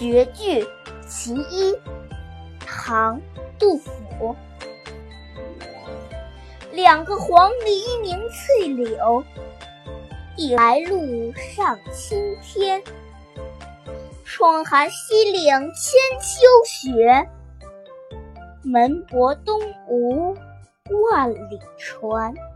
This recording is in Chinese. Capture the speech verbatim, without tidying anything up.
绝句其一，唐·杜甫。两个黄鹂鸣翠柳，一来路上青天。霜寒西岭千秋雪，门泊东吴万里船。